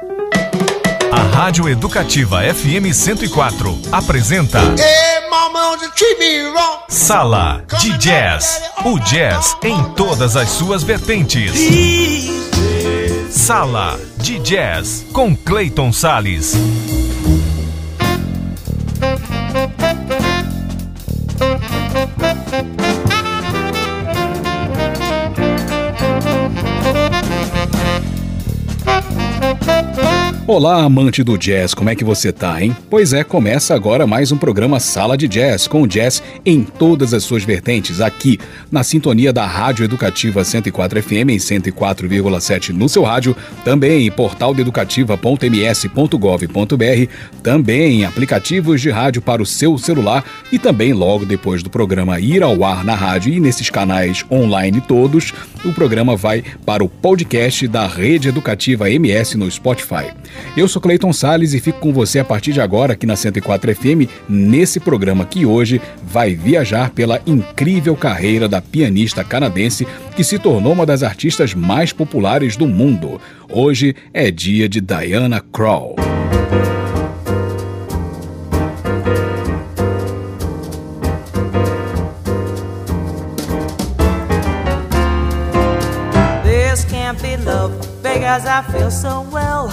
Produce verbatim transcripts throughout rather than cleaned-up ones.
A Rádio Educativa F M cento e quatro apresenta Sala de Jazz. O jazz em todas as suas vertentes. Sala de Jazz com Clayton Salles. Olá, amante do jazz, como é que você tá, hein? Pois é, começa agora mais um programa Sala de Jazz, com jazz em todas as suas vertentes, aqui na sintonia da Rádio Educativa cento e quatro F M em cento e quatro vírgula sete no seu rádio, também em portal educativa ponto m s ponto gov ponto b r, também em aplicativos de rádio para o seu celular e também logo depois do programa ir ao ar na rádio e nesses canais online todos, o programa vai para o podcast da Rede Educativa M S no Spotify. Eu sou Clayton Salles e fico com você a partir de agora aqui na cento e quatro F M, nesse programa que hoje vai viajar pela incrível carreira da pianista canadense que se tornou uma das artistas mais populares do mundo. Hoje é dia de Diana Krall. This can't be love because I feel so well.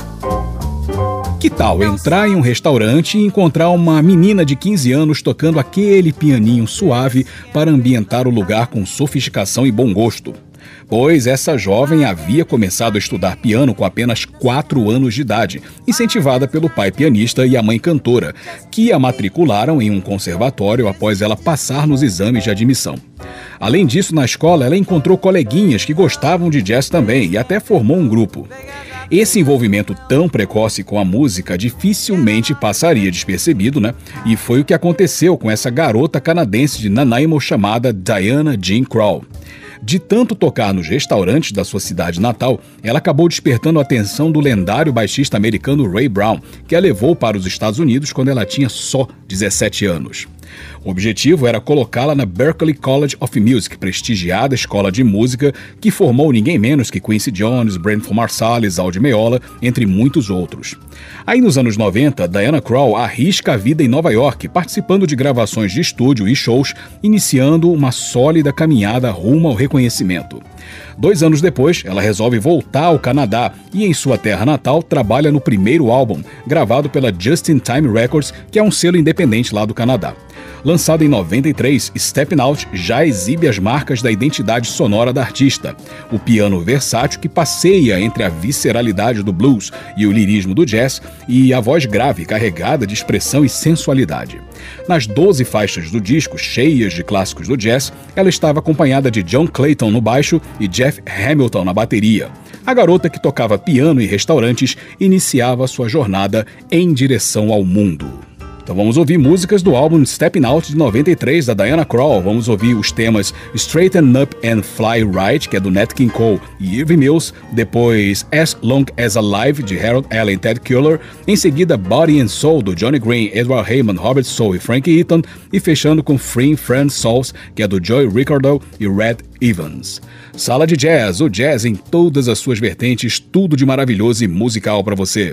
Que tal entrar em um restaurante e encontrar uma menina de quinze anos tocando aquele pianinho suave para ambientar o lugar com sofisticação e bom gosto? Pois essa jovem havia começado a estudar piano com apenas quatro anos de idade, incentivada pelo pai pianista e a mãe cantora, que a matricularam em um conservatório após ela passar nos exames de admissão. Além disso, na escola ela encontrou coleguinhas que gostavam de jazz também e até formou um grupo. Esse envolvimento tão precoce com a música dificilmente passaria despercebido, né? E foi o que aconteceu com essa garota canadense de Nanaimo chamada Diana Jean Krall. De tanto tocar nos restaurantes da sua cidade natal, ela acabou despertando a atenção do lendário baixista americano Ray Brown, que a levou para os Estados Unidos quando ela tinha só dezessete anos. O objetivo era colocá-la na Berklee College of Music, prestigiada escola de música que formou ninguém menos que Quincy Jones, Branford Marsalis, Aldi Meola, entre muitos outros. Aí nos anos noventa, Diana Krall arrisca a vida em Nova York, participando de gravações de estúdio e shows, iniciando uma sólida caminhada rumo ao reconhecimento. Dois anos depois, ela resolve voltar ao Canadá e em sua terra natal trabalha no primeiro álbum, gravado pela Just in Time Records, que é um selo independente lá do Canadá. Lançado em noventa e três, Steppin' Out já exibe as marcas da identidade sonora da artista. O piano versátil que passeia entre a visceralidade do blues e o lirismo do jazz e a voz grave carregada de expressão e sensualidade. Nas doze faixas do disco, cheias de clássicos do jazz, ela estava acompanhada de John Clayton no baixo e Jeff Hamilton na bateria. A garota que tocava piano em restaurantes iniciava sua jornada em direção ao mundo. Então vamos ouvir músicas do álbum Steppin' Out de noventa e três da Diana Krall. Vamos ouvir os temas Straighten Up and Fly Right, que é do Nat King Cole e Irving Mills, depois As Long As Alive, de Harold Allen e Ted Keeler, em seguida Body and Soul, do Johnny Green, Edward Heyman, Robert Soul e Frank Eaton, e fechando com Free Friend Souls, que é do Joey Ricardo e Red Evans. Sala de Jazz, o jazz em todas as suas vertentes, tudo de maravilhoso e musical para você.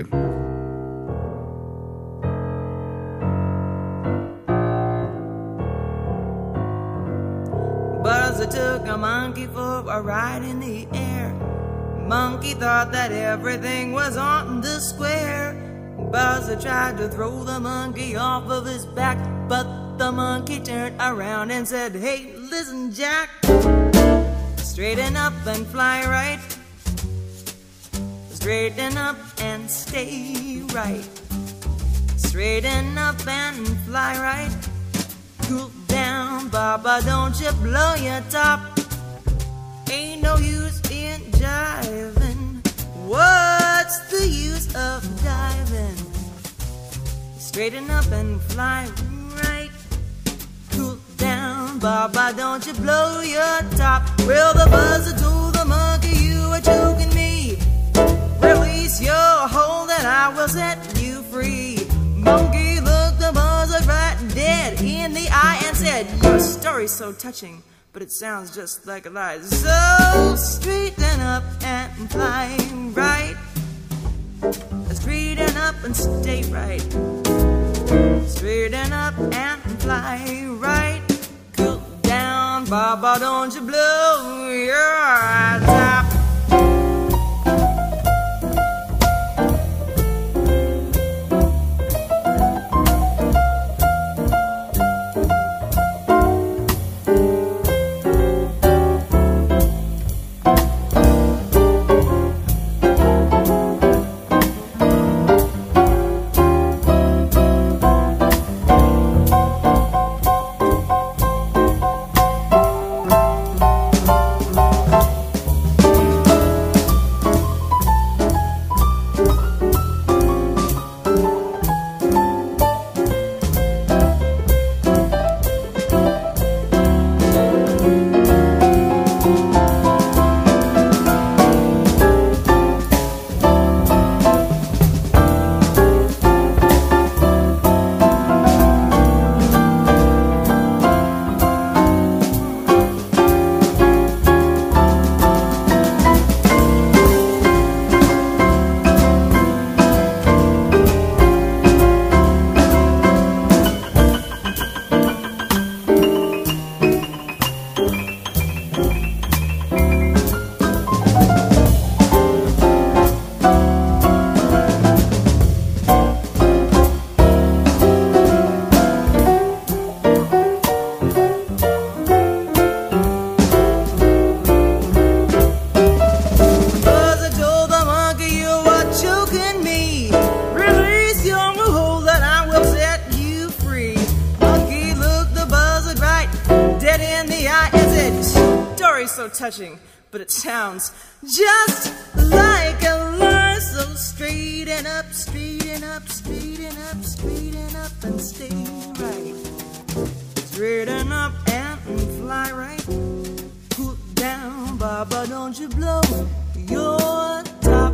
Buzzer took a monkey for a ride in the air. Monkey thought that everything was on the square. Buzzer tried to throw the monkey off of his back, but the monkey turned around and said, "Hey, listen, Jack, straighten up and fly right. Straighten up and stay right. Straighten up and fly right. Cool down, Baba, don't you blow your top. Ain't no use in jiving. What's the use of diving? Straighten up and fly right. Cool down, Baba, don't you blow your top." Well, the buzzer told the monkey, "You are choking me. Release your hold and I will set you free." Monkey looked the buzzer right dead in the eye and said, "Your story's so touching, but it sounds just like a lie. So straighten up and fly right. Straighten up and stay right. Straighten up and fly right. Cool down, Baba, don't you blow your top. Touching, but it sounds just like a lie. So straighten up, straighten up, straighten up, straighten up and stay right. Straighten up and fly right. Cool down, Baba, don't you blow your top.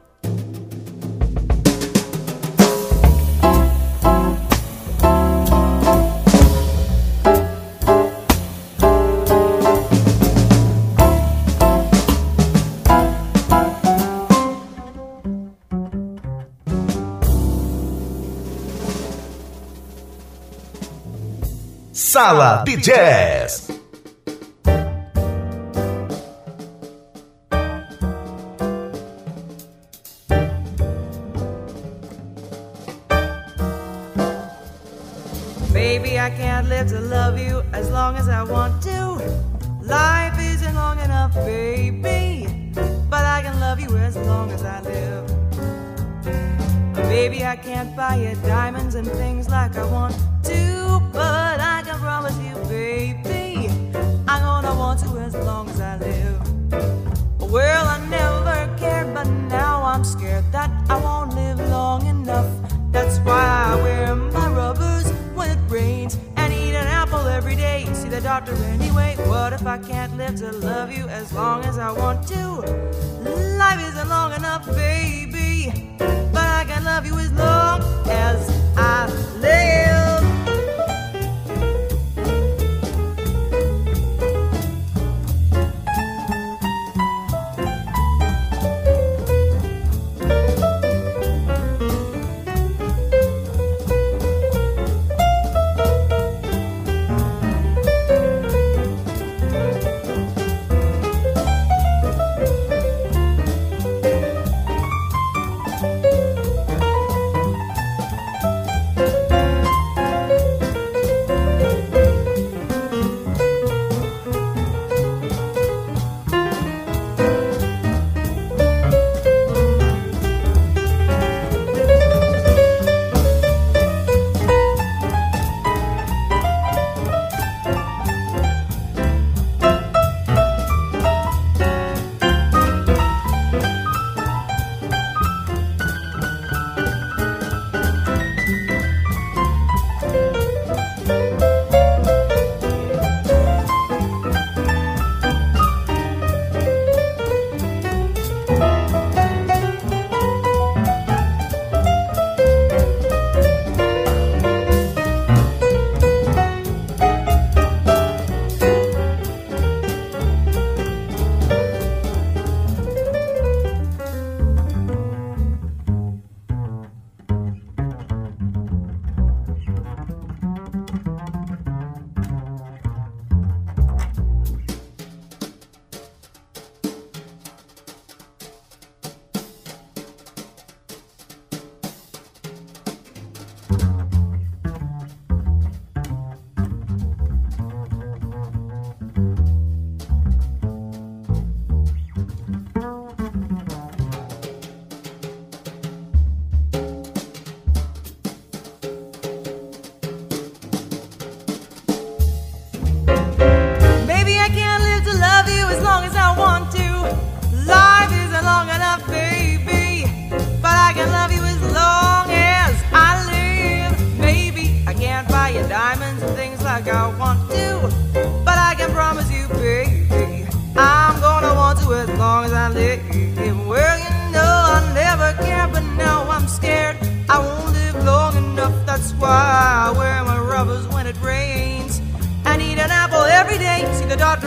Sala de Jazz. Baby, I can't live to love you as long as I want to. Life isn't long enough, baby, but I can love you as long as I live. Baby, I can't buy you diamonds and things like I want to, but I can promise you, baby, I'm gonna want to as long as I live. Well, I never cared, but now I'm scared that I won't live long enough. That's why I wear my rubbers when it rains and eat an apple every day. See the doctor anyway. What if I can't live to love you as long as I want to? Life isn't long enough, baby, but I can love you as long as I live.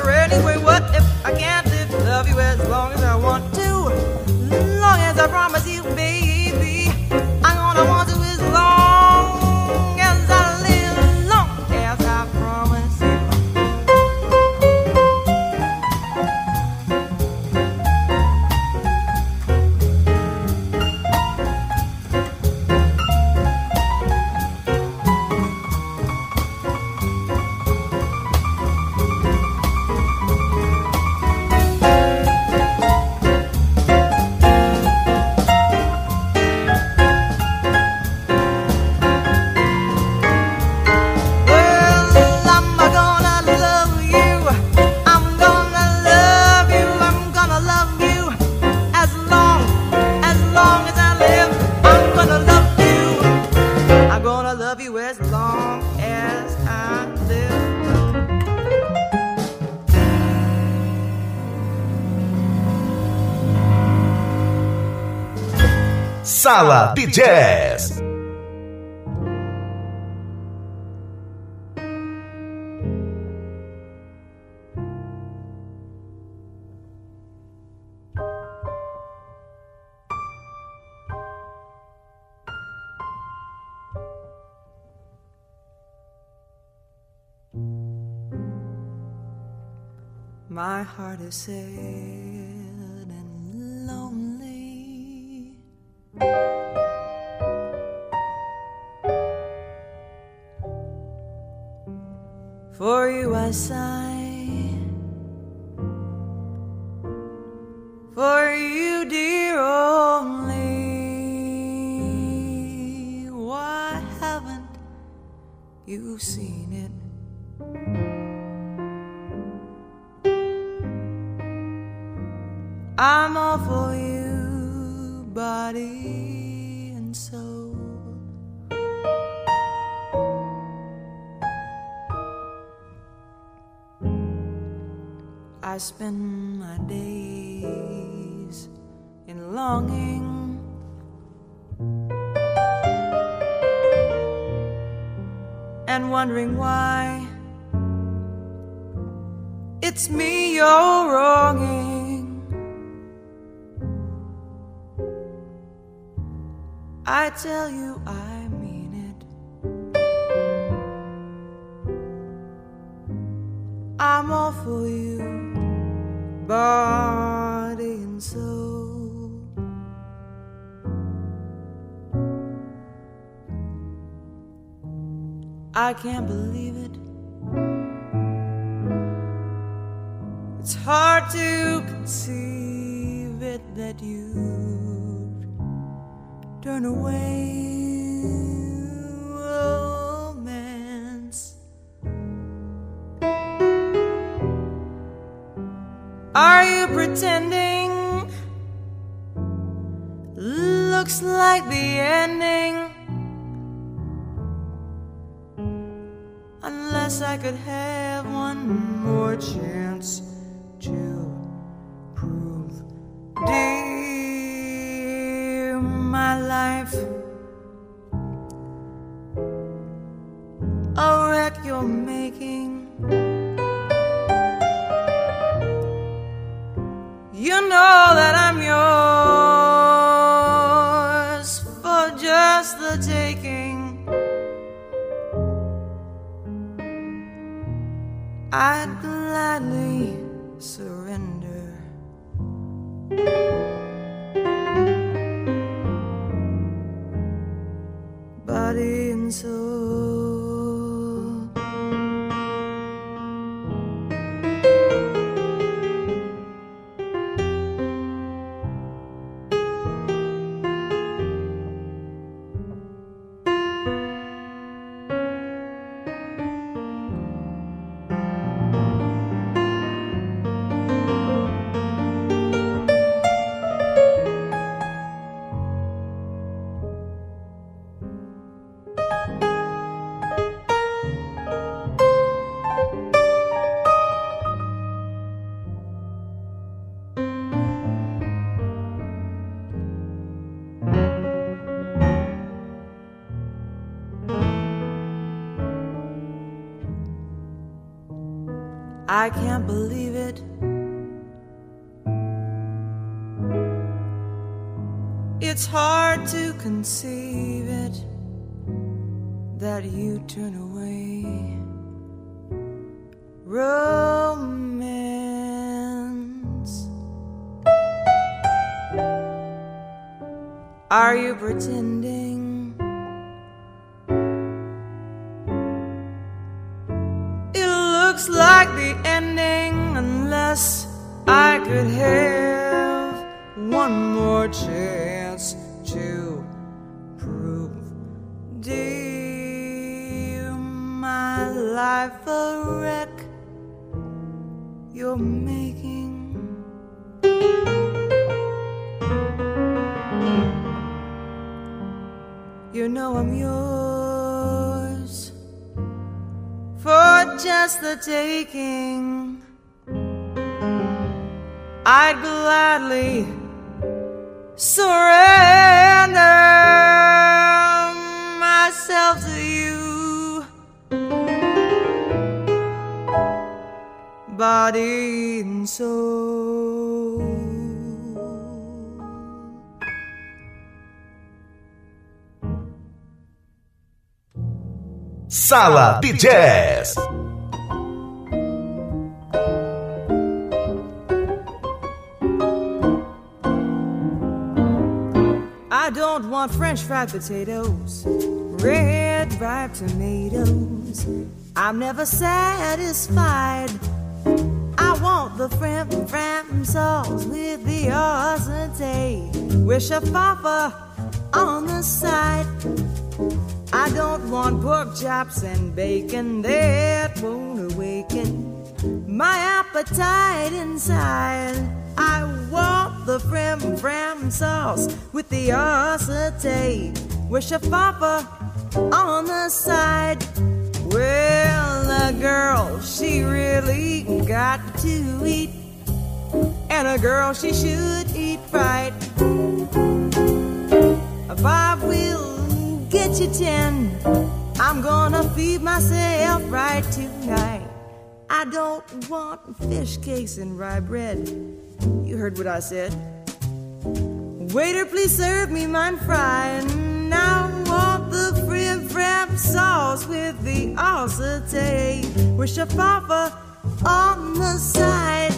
wonder anyway, what if I can't live? Love you as long as I want to, long as I promise you, baby. I'm gonna want to as long as I live, long as I promise you. Sala de Jazz. My heart is sad and lonely, for you I sigh, for you dear only. Why haven't you seen it? I'm all for you, body and soul. I spend my days in longing, and wondering why it's me you're wronging. I tell you I mean it. I'm all for you, body and soul. I can't believe it. It's hard to conceive it that you turn away romance. Are you pretending? Looks like the ending. Unless I could have one more chance to prove dear my life a wreck you're making. You know that I'm yours for just the taking. I'd gladly surrender. Body and soul. I can't believe it. It's hard to conceive it, that you turn away. Romance. Are you pretending? It looks like the ending, unless I could have one more chance to prove, dear, my life a wreck you're making. You know I'm yours for just the taking. I'd gladly surrender myself to you, body and soul. Sala de Jazz. I don't want French fried potatoes, red ripe tomatoes. I'm never satisfied. I want the frim fram sauce with the sauté with shafapa on the side. I don't want pork chops and bacon that won't awaken my appetite inside. I want the frim fram sauce with the sauté with shafapa on the side. Well, a girl, she really got to eat, and a girl, she should eat right. If I will get you ten, I'm gonna feed myself right tonight. I don't want fish cakes and rye bread. You heard what I said. Waiter, please serve me mine fried. And I want the frim fram sauce with the sauté with shafapa on the side.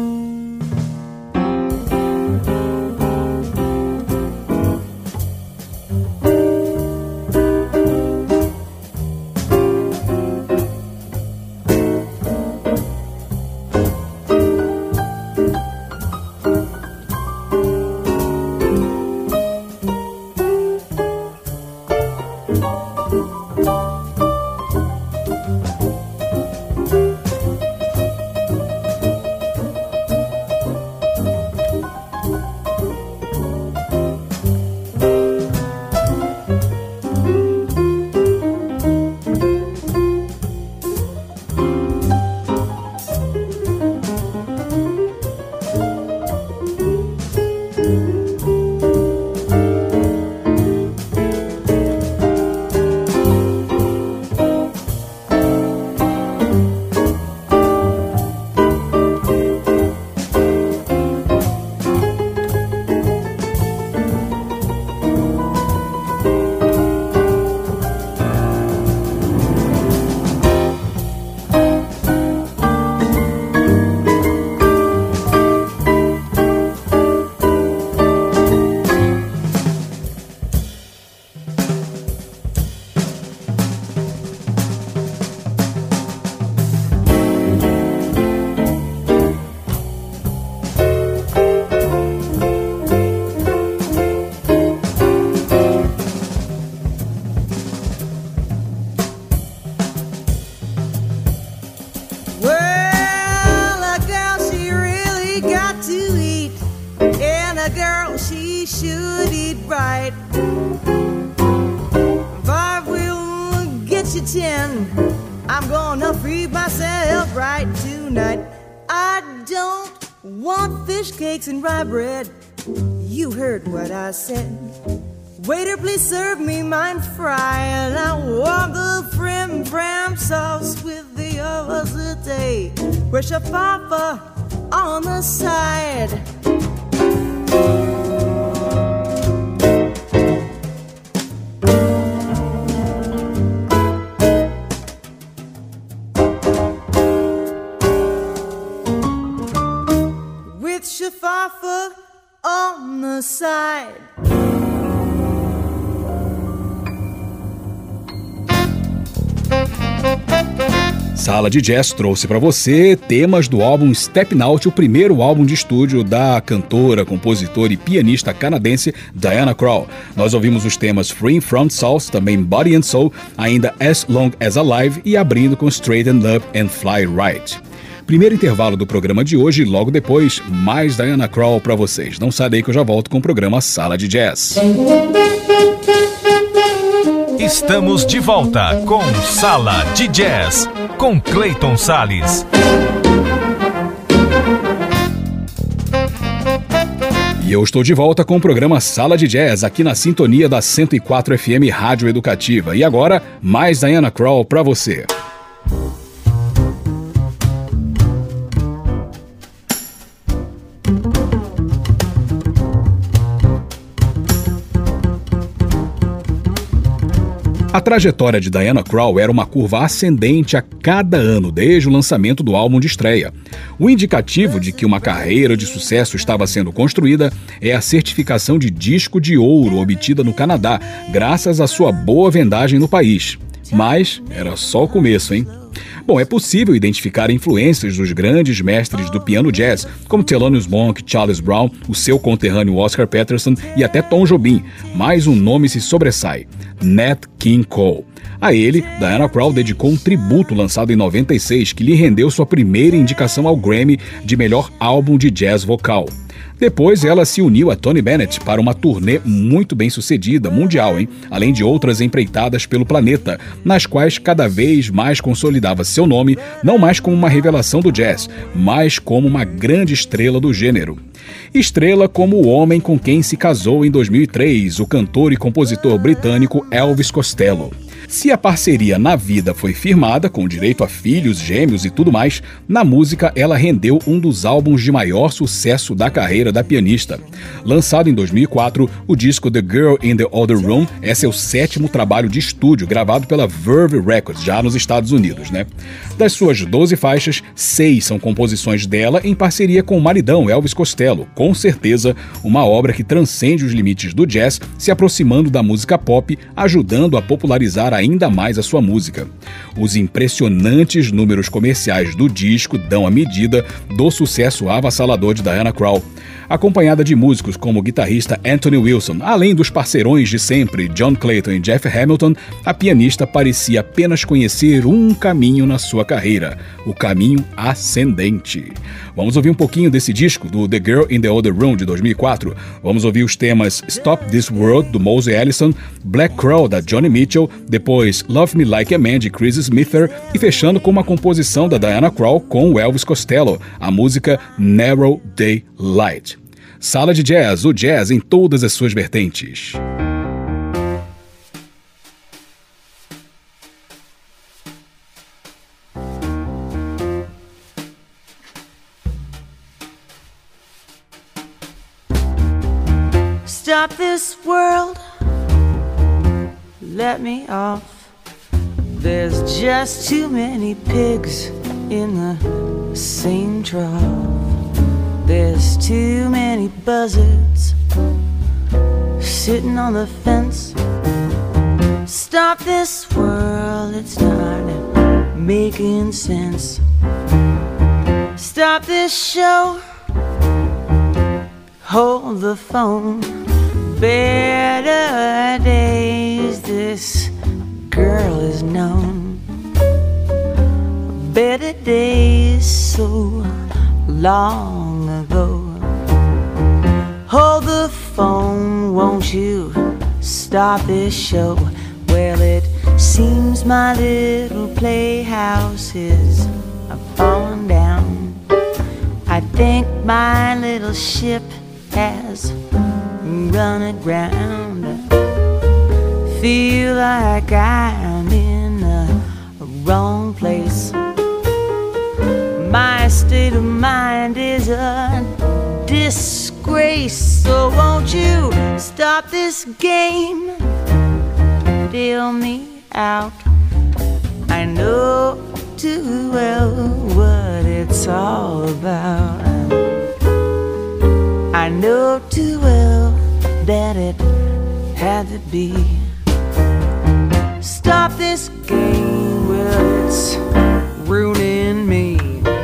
I'm gonna free myself right tonight. I don't want fish cakes and rye bread. You heard what I said. Waiter, please serve me mine fried. I want the frim fram sauce with the there was a day where Shafafa on the side. With Shafafa on the side. Sala de Jazz trouxe para você temas do álbum Steppin' Out, o primeiro álbum de estúdio da cantora, compositora e pianista canadense Diana Krall. Nós ouvimos os temas Free From South, também Body and Soul, ainda As Long As Alive e abrindo com Straighten Up and Fly Right. Primeiro intervalo do programa de hoje, logo depois, mais Diana Krall para vocês. Não sai daí que eu já volto com o programa Sala de Jazz. Estamos de volta com Sala de Jazz, com Clayton Salles. E eu estou de volta com o programa Sala de Jazz, aqui na sintonia da cento e quatro F M Rádio Educativa. E agora, mais Diana Krall para você. A trajetória de Diana Krall era uma curva ascendente a cada ano, desde o lançamento do álbum de estreia. O indicativo de que uma carreira de sucesso estava sendo construída é a certificação de disco de ouro obtida no Canadá, graças à sua boa vendagem no país. Mas era só o começo, hein? Bom, é possível identificar influências dos grandes mestres do piano jazz, como Thelonious Monk, Charles Brown, o seu conterrâneo Oscar Peterson e até Tom Jobim, mas um nome se sobressai: Nat King Cole. A ele, Diana Krall dedicou um tributo lançado em noventa e seis que lhe rendeu sua primeira indicação ao Grammy de melhor álbum de jazz vocal. Depois, ela se uniu a Tony Bennett para uma turnê muito bem sucedida, mundial, hein? Além de outras empreitadas pelo planeta, nas quais cada vez mais consolidava seu nome, não mais como uma revelação do jazz, mas como uma grande estrela do gênero. Estrela como o homem com quem se casou em dois mil e três, o cantor e compositor britânico Elvis Costello. Se a parceria na vida foi firmada, com direito a filhos, gêmeos e tudo mais, na música ela rendeu um dos álbuns de maior sucesso da carreira da pianista. Lançado em dois mil e quatro, o disco The Girl in the Other Room é seu sétimo trabalho de estúdio, gravado pela Verve Records, já nos Estados Unidos, né? Das suas doze faixas, seis são composições dela em parceria com o maridão Elvis Costello, com certeza uma obra que transcende os limites do jazz, se aproximando da música pop, ajudando a popularizar ainda mais a sua música. Os impressionantes números comerciais do disco dão a medida do sucesso avassalador de Diana Krall. Acompanhada de músicos como o guitarrista Anthony Wilson, além dos parceirões de sempre John Clayton e Jeff Hamilton, a pianista parecia apenas conhecer um caminho na sua carreira, o caminho ascendente. Vamos ouvir um pouquinho desse disco, do The Girl in the Other Room, de dois mil e quatro. Vamos ouvir os temas Stop This World, do Mosey Allison, Black Crow, da Johnny Mitchell, depois Love Me Like a Man, de Chris Smither, e fechando com uma composição da Diana Krall com o Elvis Costello, a música Narrow Daylight. Sala de Jazz, o jazz em todas as suas vertentes. Stop this world, let me off. There's just too many pigs in the same trough. There's too many buzzards sitting on the fence. Stop this world, it's not making sense. Stop this show, hold the phone. Better days, this girl is known. Better days so long ago. Hold the phone, won't you stop this show? Well, it seems my little playhouse is falling down. I think my little ship has run aground. Feel like I'm in the wrong place. mind is a disgrace. So won't you stop this game? Deal me out. I know too well what it's all about. I know too well that it had to be. Stop this game, well, it's ruining me.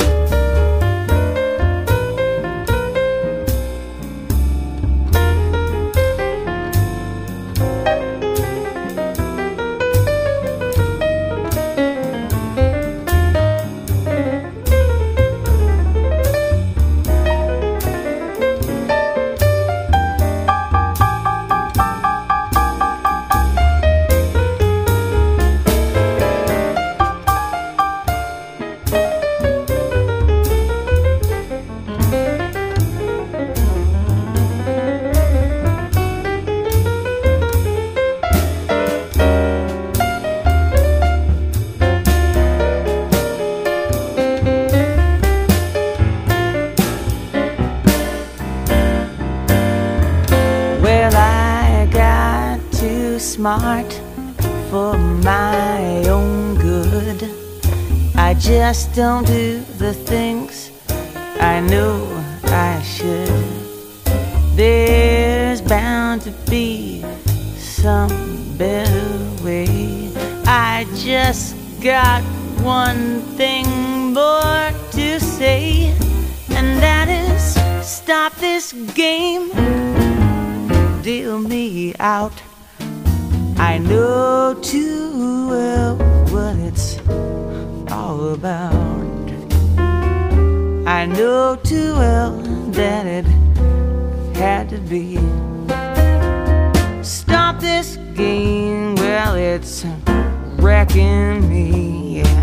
Smart for my own good. I just don't do the things I know I should. There's bound to be some better way. I just got one thing more to say, and that is stop this game. Deal me out. I know too well what it's all about. I know too well that it had to be. Stop this game, well, it's wrecking me, yeah.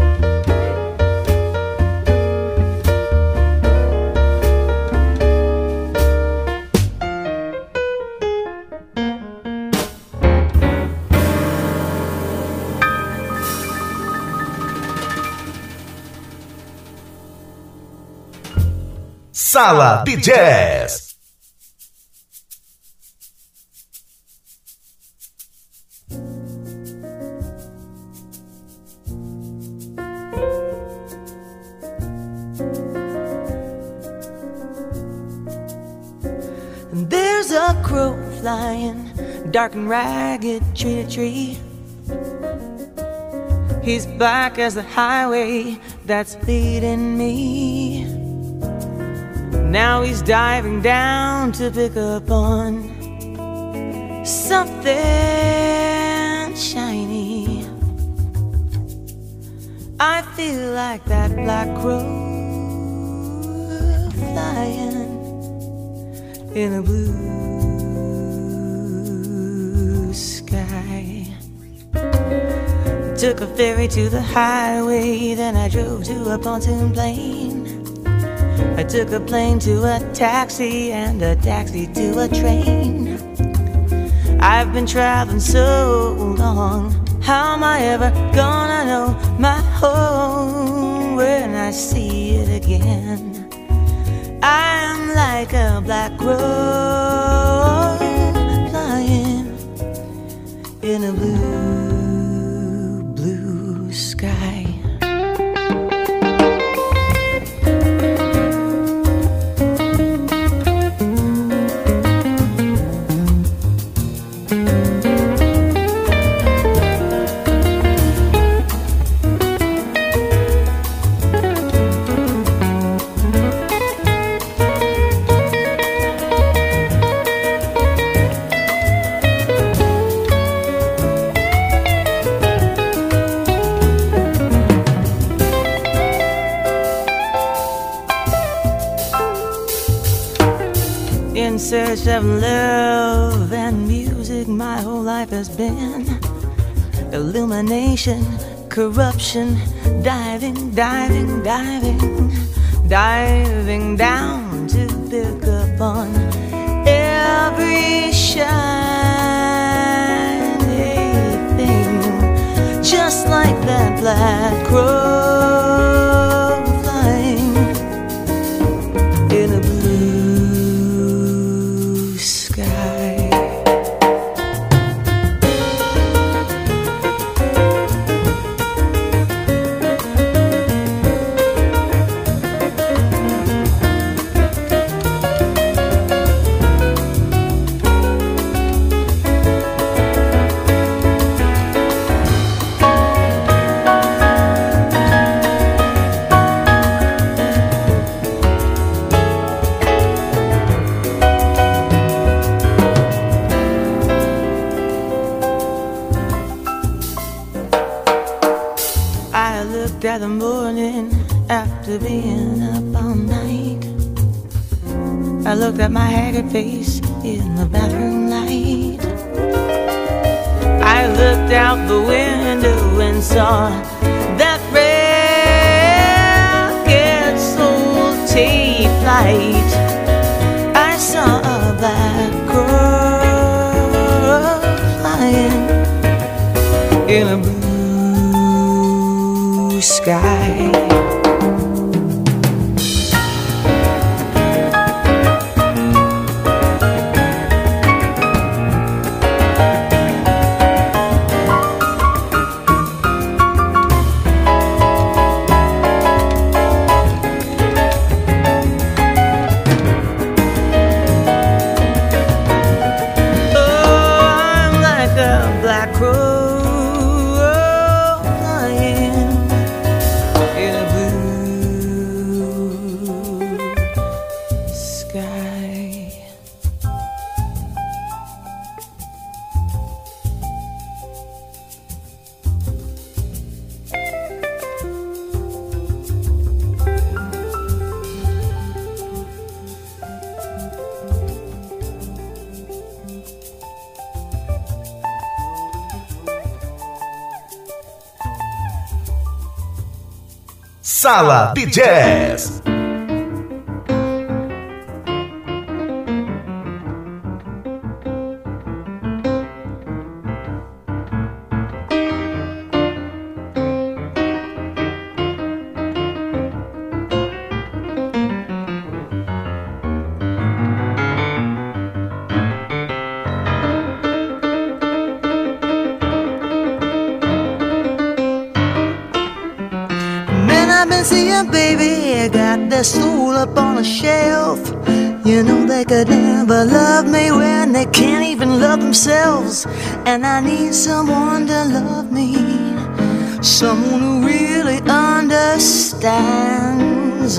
Sala de Jazz. There's a crow flying, dark and ragged, tree to tree. He's black as the highway that's leading me. Now he's diving down to pick up on something shiny. I feel like that black crow flying in a blue sky. Took a ferry to the highway, then I drove to a pontoon plane. I took a plane to a taxi and a taxi to a train. I've been traveling so long, how am I ever gonna know my home when I see it again? I'm like a black crow flying in a blue, blue sky. In search of love and music, my whole life has been illumination, corruption, diving, diving, diving, diving down to pick up on every shiny thing, just like that black crow flying at the morning after being up all night. I looked at my haggard face in the bathroom light. I looked out the window and saw that ragged soul take flight. I saw a black girl flying in a blue sky. Sala de Jazz. Seeing, baby, I got their soul up on a shelf. You know they could never love me when they can't even love themselves. And I need someone to love me, someone who really understands,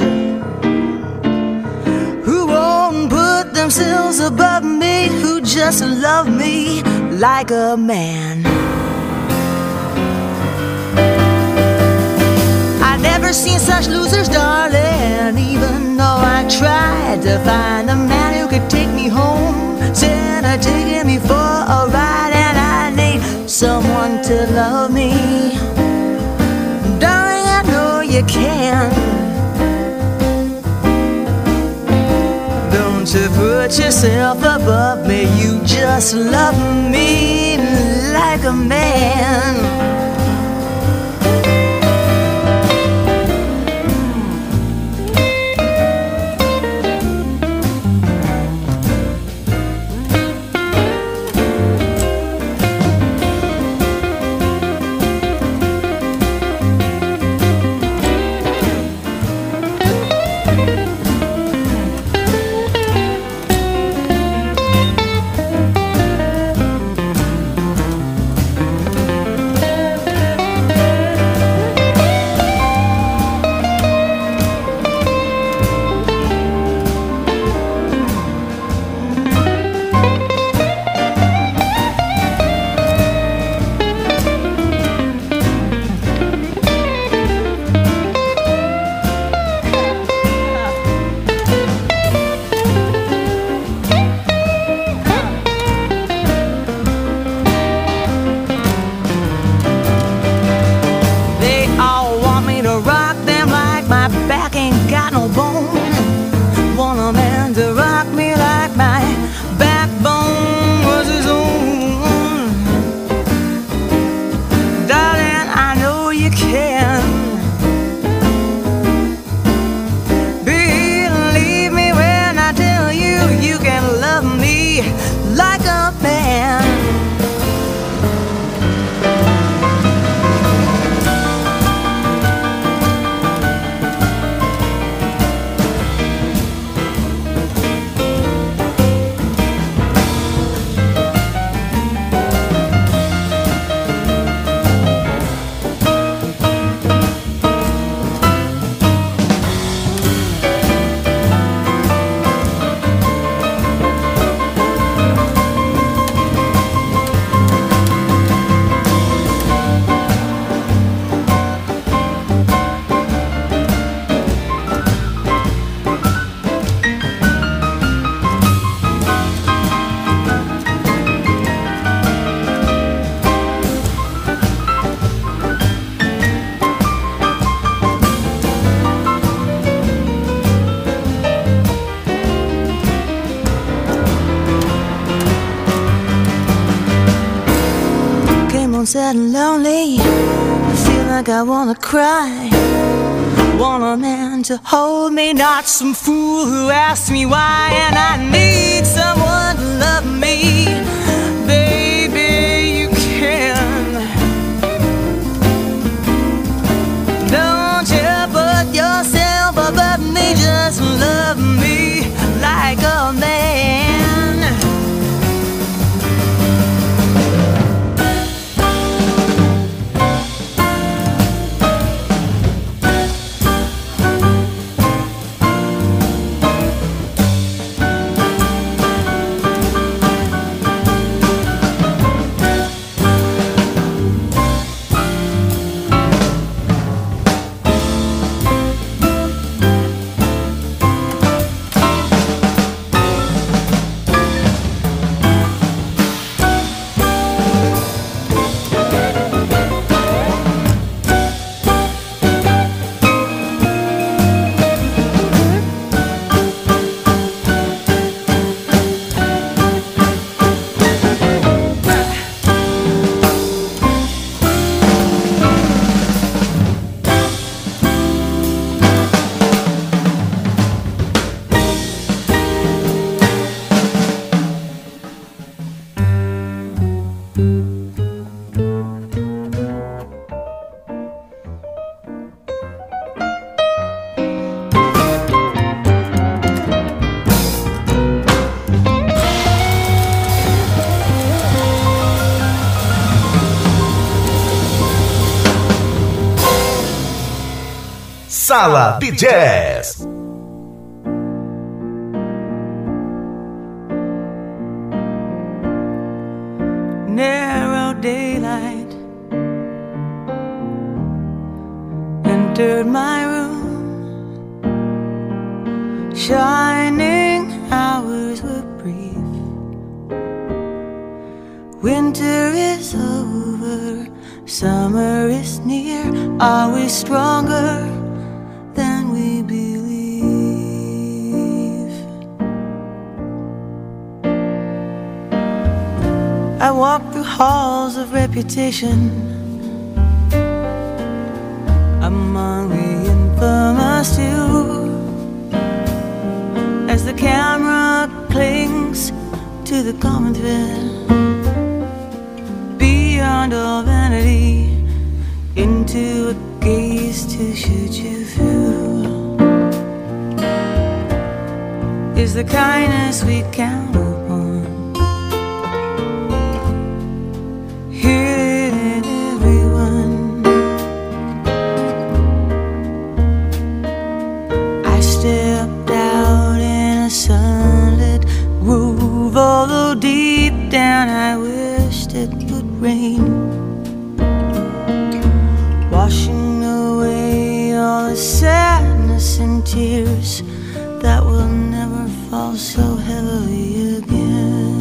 who won't put themselves above me, who just love me like a man. Never seen such losers, darling. Even though I tried to find a man who could take me home, said I'd taking me for a ride, and I need someone to love me. Darling, I know you can. Don't you put yourself above me, you just love me like a man. feeling sad and lonely. I feel like I wanna cry. Want a man to hold me, not some fool who asks me why. And I need someone to love me. Baby, you can. Don't you put yourself above me, just love me like a man. Sala de Jazz. Narrow daylight entered my room. Shining hours were brief. Winter is over, summer is near. Are we stronger than we believe? I walk through halls of reputation, among the infamous too, as the camera clings to the common thread. Beyond all vanity, into a gaze to shoot you through, is the kindness we count upon. Hear it in everyone. I stepped out in a sunlit groove, although deep down I wished it would rain, washing away all the sadness and tears that will never fall so heavily again.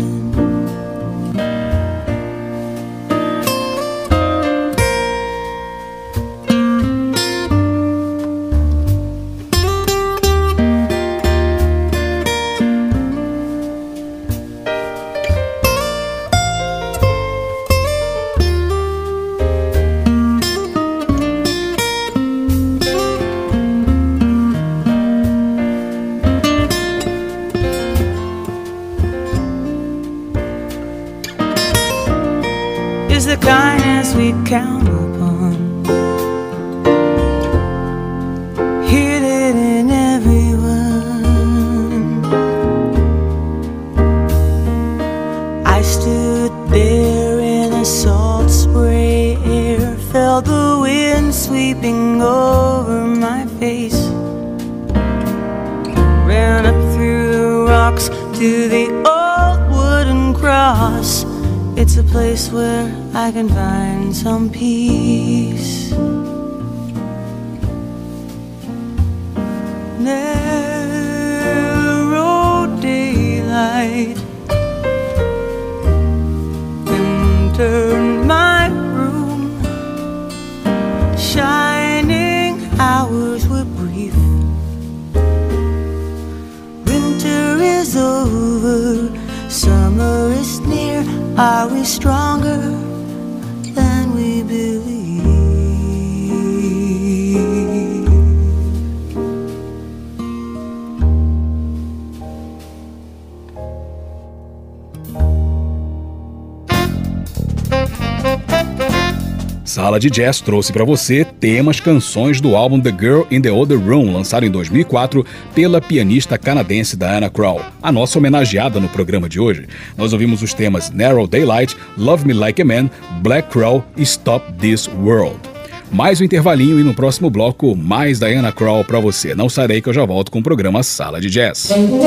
Is the kindness we count upon. Hear it in everyone. I stood there in a salt spray air, felt the wind sweeping over my face, ran up through the rocks to the old wooden cross. It's a place where I can find some peace. Narrow daylight entered my room. Shining hours were brief. Winter is over, summer is near. Are we stronger than Sala de Jazz trouxe para você temas, canções do álbum The Girl in the Other Room, lançado em dois mil e quatro pela pianista canadense Diana Krall, a nossa homenageada no programa de hoje. Nós ouvimos os temas Narrow Daylight, Love Me Like a Man, Black Crow e Stop This World. Mais um intervalinho e no próximo bloco, mais Diana Krall para você. Não sarei que eu já volto com o programa Sala de Jazz.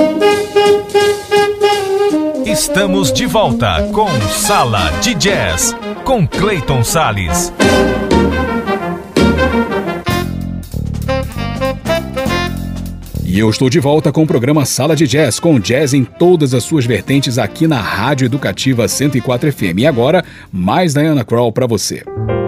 Estamos de volta com Sala de Jazz, com Clayton Salles. E eu estou de volta com o programa Sala de Jazz, com jazz em todas as suas vertentes aqui na Rádio Educativa cento e quatro F M. E agora, mais Diana Krall para você.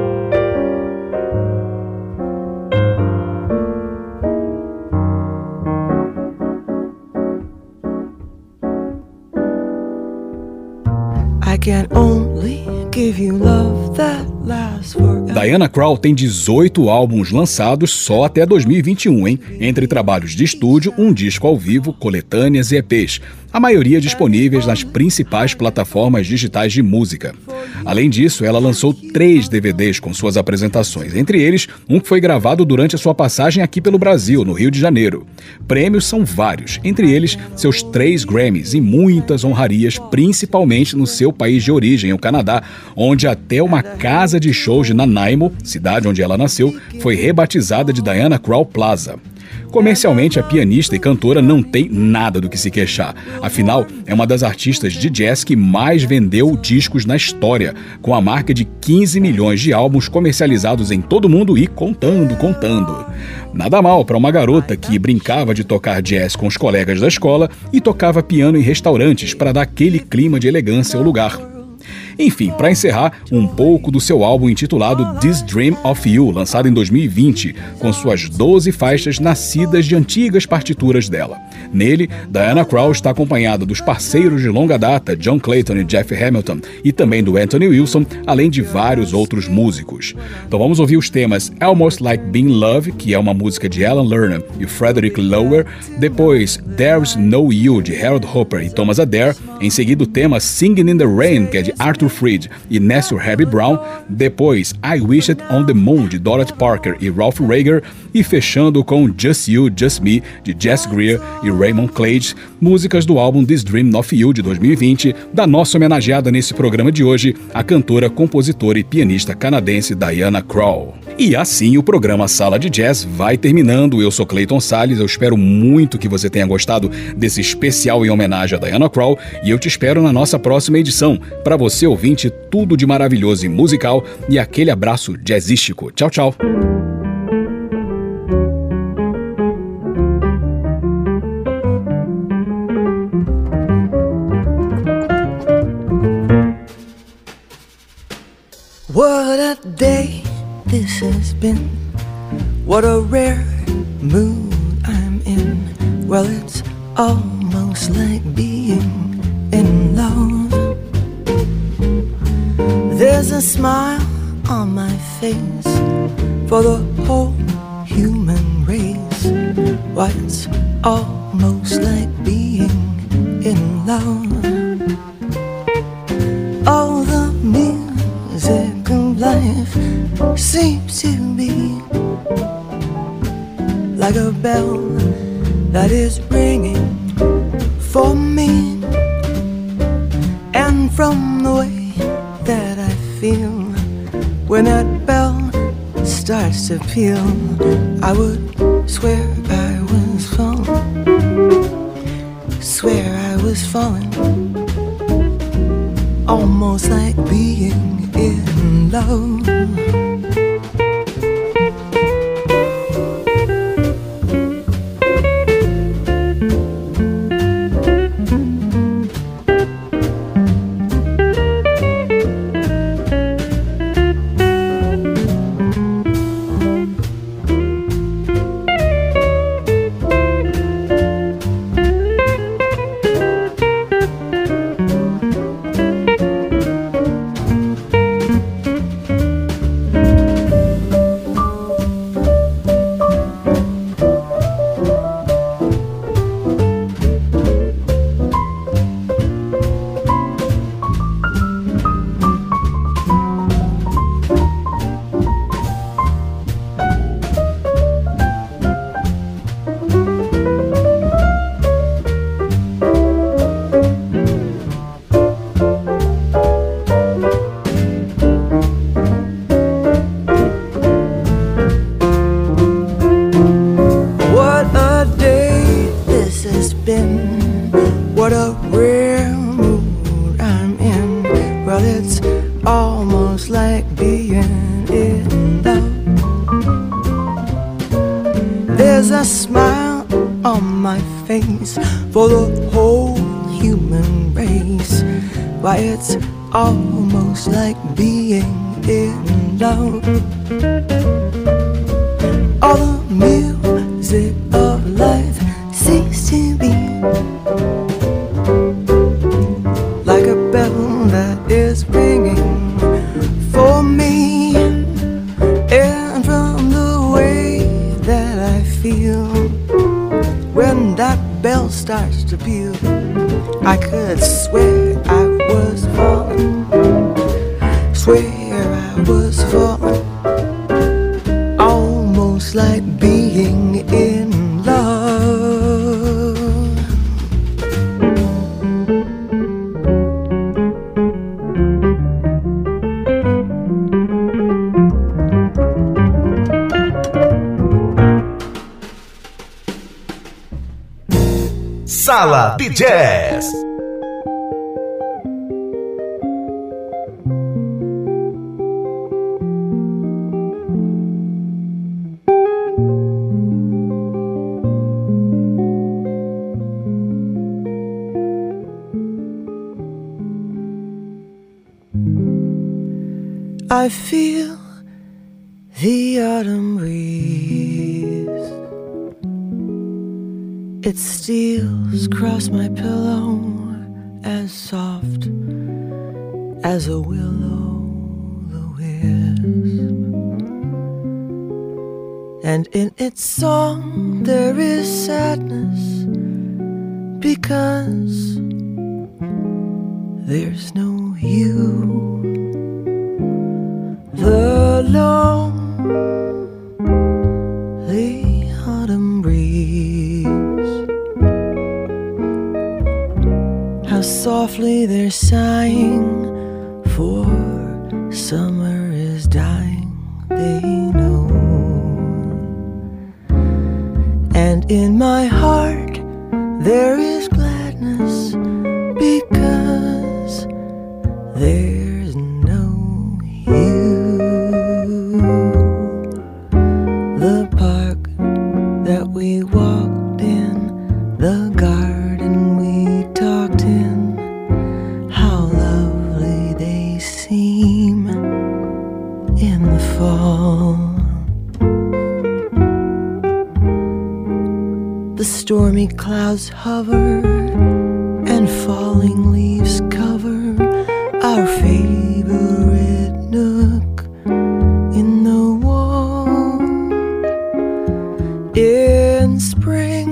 Diana Krall tem dezoito álbuns lançados só até dois mil e vinte e um, hein? Entre trabalhos de estúdio, um disco ao vivo, coletâneas e E Pês. A maioria disponíveis nas principais plataformas digitais de música. Além disso, ela lançou três D V Ds com suas apresentações, entre eles um que foi gravado durante a sua passagem aqui pelo Brasil, no Rio de Janeiro. Prêmios são vários, entre eles seus três Grammys e muitas honrarias, principalmente no seu país de origem, o Canadá, onde até uma casa de shows de Nanaimo, cidade onde ela nasceu, foi rebatizada de Diana Krall Plaza. Comercialmente, a pianista e cantora não tem nada do que se queixar. Afinal, é uma das artistas de jazz que mais vendeu discos na história, com a marca de quinze milhões de álbuns comercializados em todo o mundo e contando, contando. Nada mal para uma garota que brincava de tocar jazz com os colegas da escola e tocava piano em restaurantes para dar aquele clima de elegância ao lugar. Enfim, para encerrar, um pouco do seu álbum intitulado This Dream of You, lançado em dois mil e vinte, com suas doze faixas nascidas de antigas partituras dela. Nele, Diana Krall está acompanhada dos parceiros de longa data John Clayton e Jeff Hamilton, e também do Anthony Wilson, além de vários outros músicos. Então vamos ouvir os temas Almost Like Being Love, que é uma música de Alan Lerner e Frederick Lower, depois There's No You, de Harold Hopper e Thomas Adair, em seguida o tema Singing in the Rain, que é de Arthur Freed e Nessel Harry Brown, depois I Wish It on the Moon, de Dorothy Parker e Ralph Rager, e fechando com Just You, Just Me, de Jess Greer e Raymond Clage, músicas do álbum This Dream of You, de dois mil e vinte, da nossa homenageada nesse programa de hoje, a cantora, compositora e pianista canadense Diana Krall. E assim o programa Sala de Jazz vai terminando. Eu sou Clayton Salles, eu espero muito que você tenha gostado desse especial em homenagem a Diana Krall e eu te espero na nossa próxima edição. Para você, ouvinte, tudo de maravilhoso e musical e aquele abraço jazzístico. Tchau, tchau. What a day this has been. What a rare mood I'm in. Well, it's almost like being in love. There's a smile on my face for the whole human race. Why, it's almost like being in love. All the music of life seems to be like a bell that is ringing for me. And from the way that I feel when that bell starts to peal, I would swear I was falling, swear I was falling, almost like being in love. being in love. There's a smile on my face for the whole human race. Why, it's almost like being in love. All the music of life seems to be like a bell that is ringing for me. And from the way that I feel when that bell starts to peal, I could swear I was falling, swear I was falling, almost like being in love. Sala de Jazz. I feel the autumn breeze. It steals across my pillow as soft as a will-o'-the-wisp. And in its song there is sadness, because there's no you. The lonely autumn breeze, how softly they're sighing, for summer is dying, they know. And in my heart there is gladness, because there's no you. The park that we walked in, the garden we talked in, how lovely they seem in the fall. The stormy clouds hover and falling leaves cover our favorite nook in the wall. In spring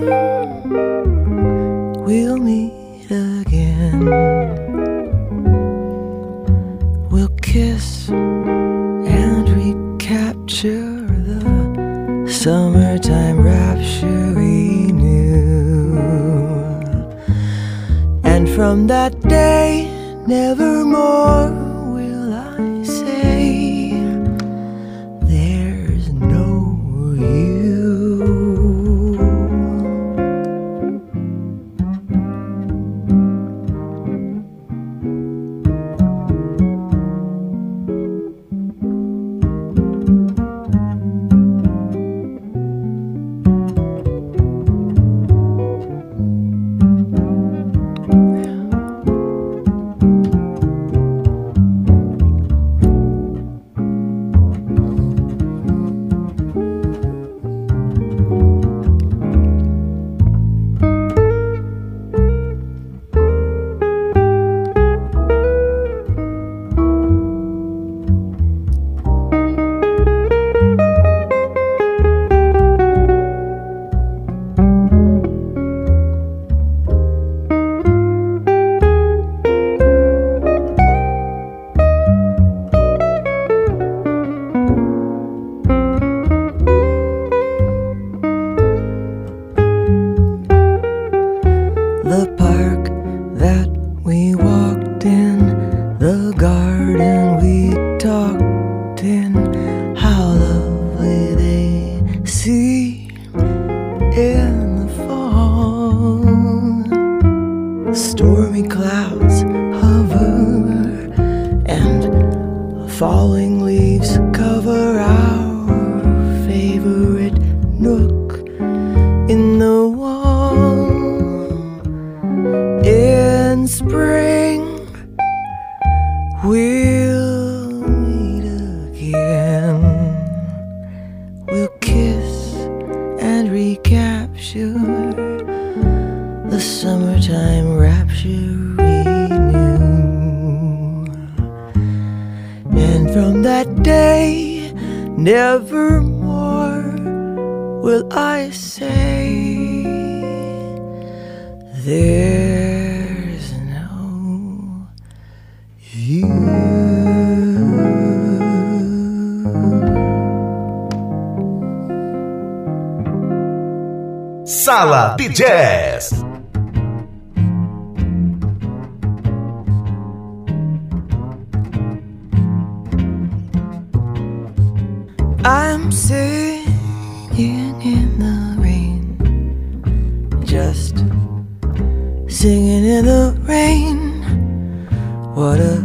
we'll meet again, we'll kiss and recapture the summertime rapture we knew. And from that day nevermore will I say there's no you. leaves cover our favorite nook in the wall. In spring we'll meet again. We'll kiss and recapture the summertime rapture we knew. And from that day, nevermore will I say there's no you. Sala de Jazz. I'm singing in the rain, just singing in the rain. What a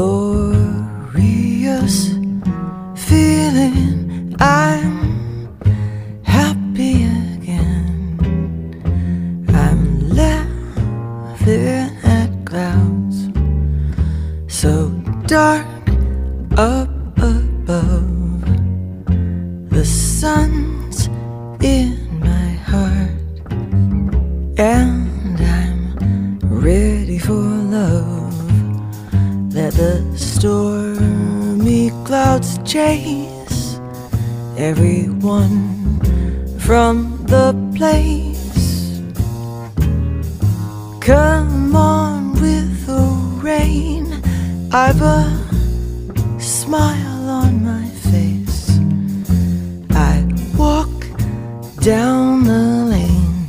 glorious feeling. I'm happy again. I'm laughing at clouds so dark up above. The sun's in my heart, and I'm ready for love. Let the stormy clouds chase everyone from the place. Come on with the rain, I've a smile on my face. I walk down the lane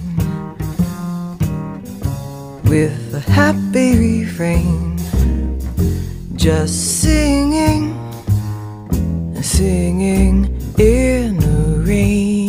with a happy refrain, just singing, singing in the rain.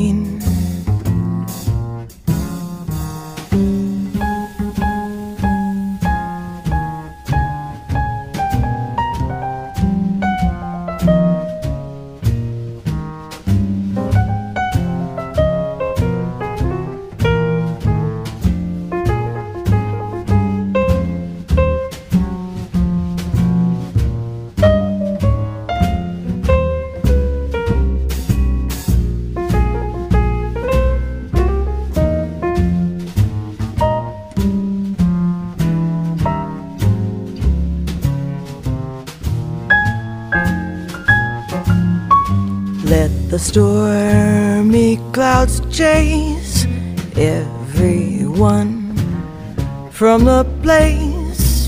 Let the stormy clouds chase everyone from the place.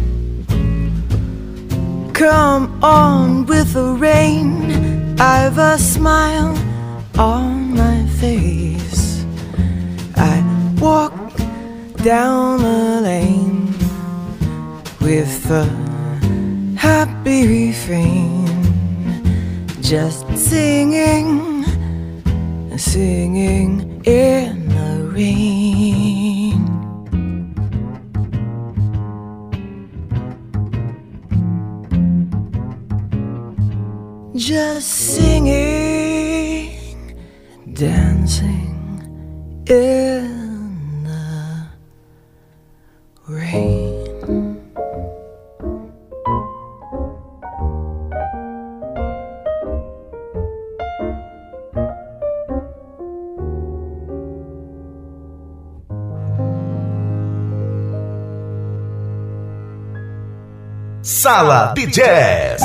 Come on with the rain, I've a smile on my face. I walk down the lane with a happy refrain, just singing, singing in the rain. Just singing, dancing in the rain. Sala de Jazz.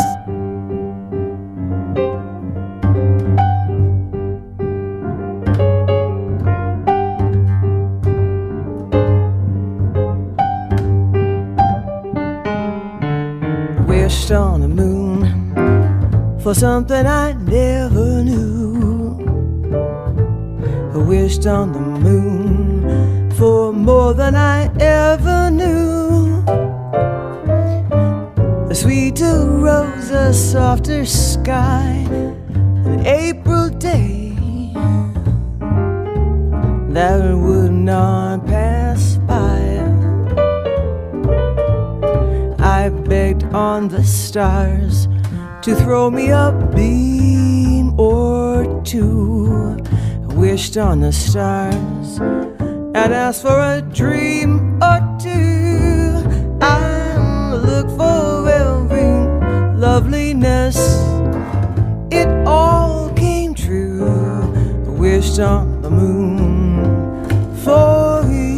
Wished on the moon for something I never knew. I wished on the moon for more than I ever knew. A sweeter rose, a softer sky, an April day that would not pass by. I begged on the stars to throw me a beam or two. I wished on the stars and asked for a dream or two. I looked for every loveliness. It all came true. I wished on the moon for you.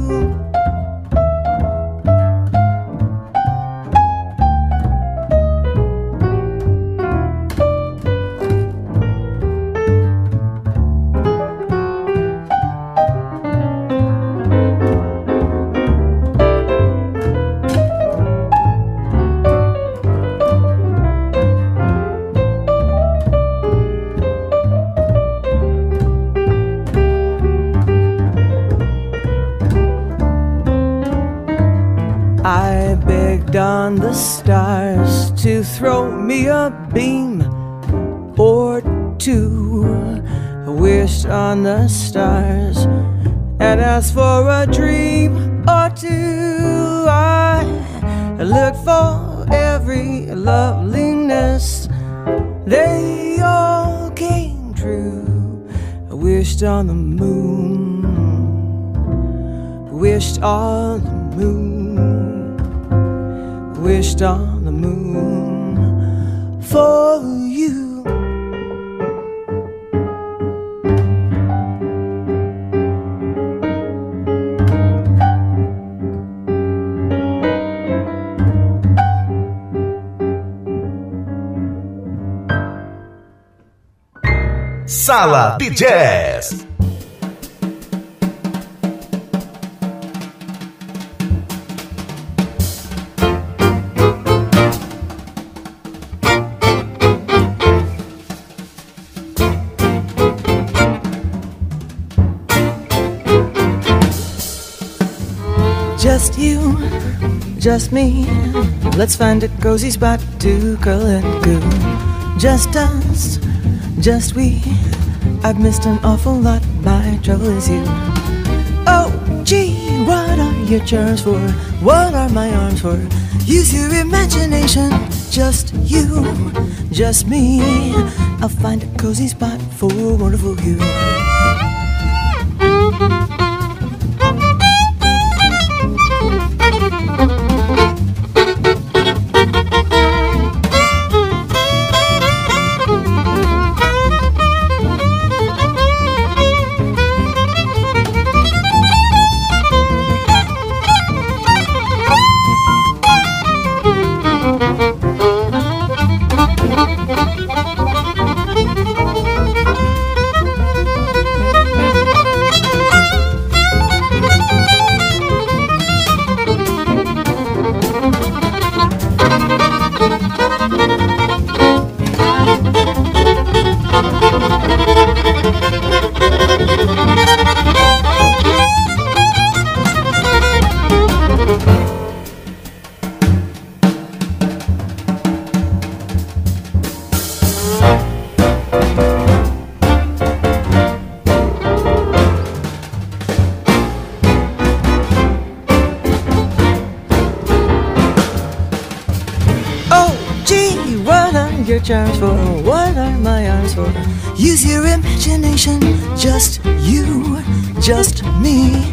On the stars to throw me a beam or two. I wished on the stars and asked for a dream or two. I looked for every loveliness. They all came true. I wished on the moon, wished on the moon, wished on the moon for you. Sala de Jazz. Just you, just me. Let's find a cozy spot to curl and goo. Just us, just we. I've missed an awful lot, my trouble is you. Oh, gee, what are your charms for? What are my arms for? Use your imagination. Just you, just me. I'll find a cozy spot for a wonderful you. Your charms for, what are my arms for? Use your imagination. Just you, just me.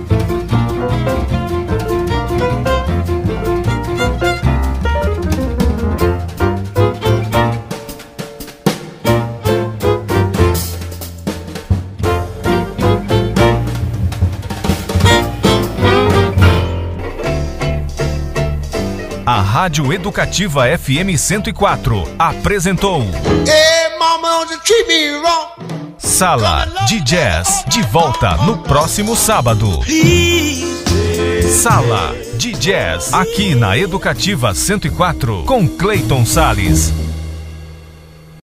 A Rádio Educativa F M cento e quatro apresentou Sala de Jazz, de volta no próximo sábado. Sala de Jazz, aqui na Educativa cento e quatro, com Cleiton Salles.